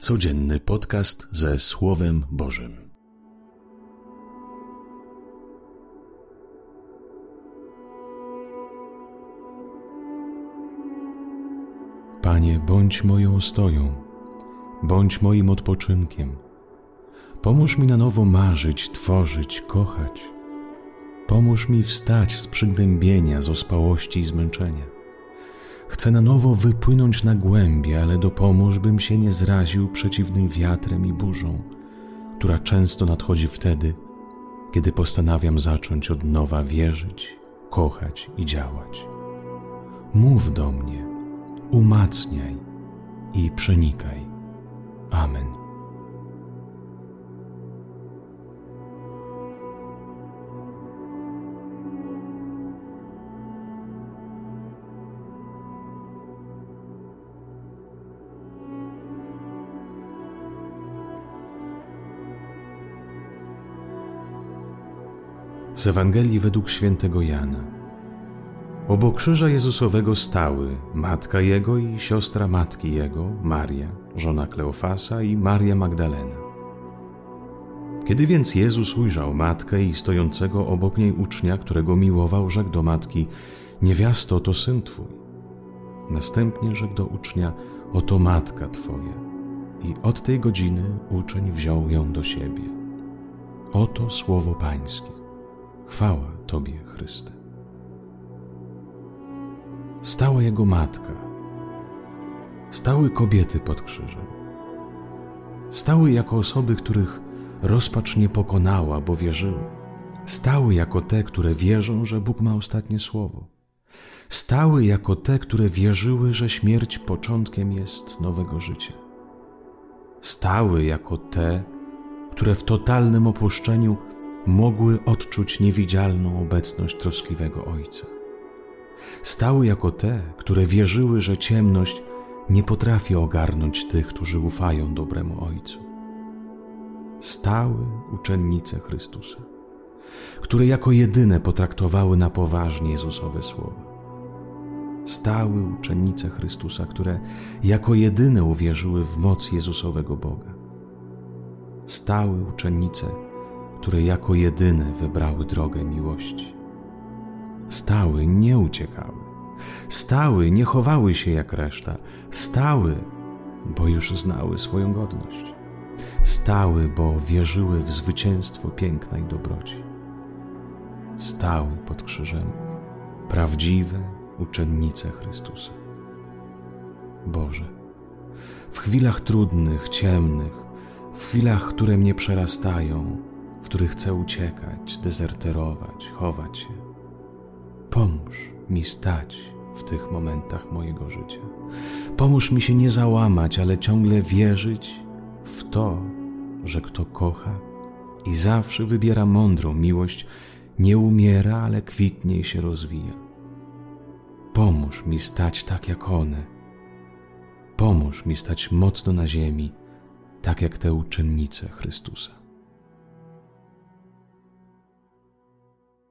Codzienny podcast ze Słowem Bożym. Panie, bądź moją ostoją, bądź moim odpoczynkiem. Pomóż mi na nowo marzyć, tworzyć, kochać. Pomóż mi wstać z przygnębienia, z ospałości i zmęczenia. Chcę na nowo wypłynąć na głębie, ale dopomóż, bym się nie zraził przeciwnym wiatrem i burzą, która często nadchodzi wtedy, kiedy postanawiam zacząć od nowa wierzyć, kochać i działać. Mów do mnie, umacniaj i przenikaj. Amen. Z Ewangelii według świętego Jana. Obok krzyża Jezusowego stały matka Jego i siostra matki Jego, Maria, żona Kleofasa i Maria Magdalena. Kiedy więc Jezus ujrzał matkę i stojącego obok niej ucznia, którego miłował, rzekł do matki: niewiasto, to syn Twój. Następnie rzekł do ucznia: oto matka Twoja. I od tej godziny uczeń wziął ją do siebie. Oto słowo Pańskie. Chwała Tobie, Chryste. Stała jego matka. Stały kobiety pod krzyżem. Stały jako osoby, których rozpacz nie pokonała, bo wierzyły. Stały jako te, które wierzą, że Bóg ma ostatnie słowo. Stały jako te, które wierzyły, że śmierć początkiem jest nowego życia. Stały jako te, które w totalnym opuszczeniu mogły odczuć niewidzialną obecność troskliwego Ojca. Stały jako te, które wierzyły, że ciemność nie potrafi ogarnąć tych, którzy ufają dobremu Ojcu. Stały uczennice Chrystusa, które jako jedyne potraktowały na poważnie Jezusowe słowa. Stały uczennice Chrystusa, które jako jedyne uwierzyły w moc Jezusowego Boga. Stały uczennice, które jako jedyne wybrały drogę miłości. Stały, nie uciekały. Stały, nie chowały się jak reszta. Stały, bo już znały swoją godność. Stały, bo wierzyły w zwycięstwo piękna i dobroci. Stały pod krzyżem prawdziwe uczennice Chrystusa. Boże, w chwilach trudnych, ciemnych, w chwilach, które mnie przerastają, w których chcę uciekać, dezerterować, chować się. Pomóż mi stać w tych momentach mojego życia. Pomóż mi się nie załamać, ale ciągle wierzyć w to, że kto kocha i zawsze wybiera mądrą miłość, nie umiera, ale kwitnie i się rozwija. Pomóż mi stać tak jak one. Pomóż mi stać mocno na ziemi, tak jak te uczennice Chrystusa.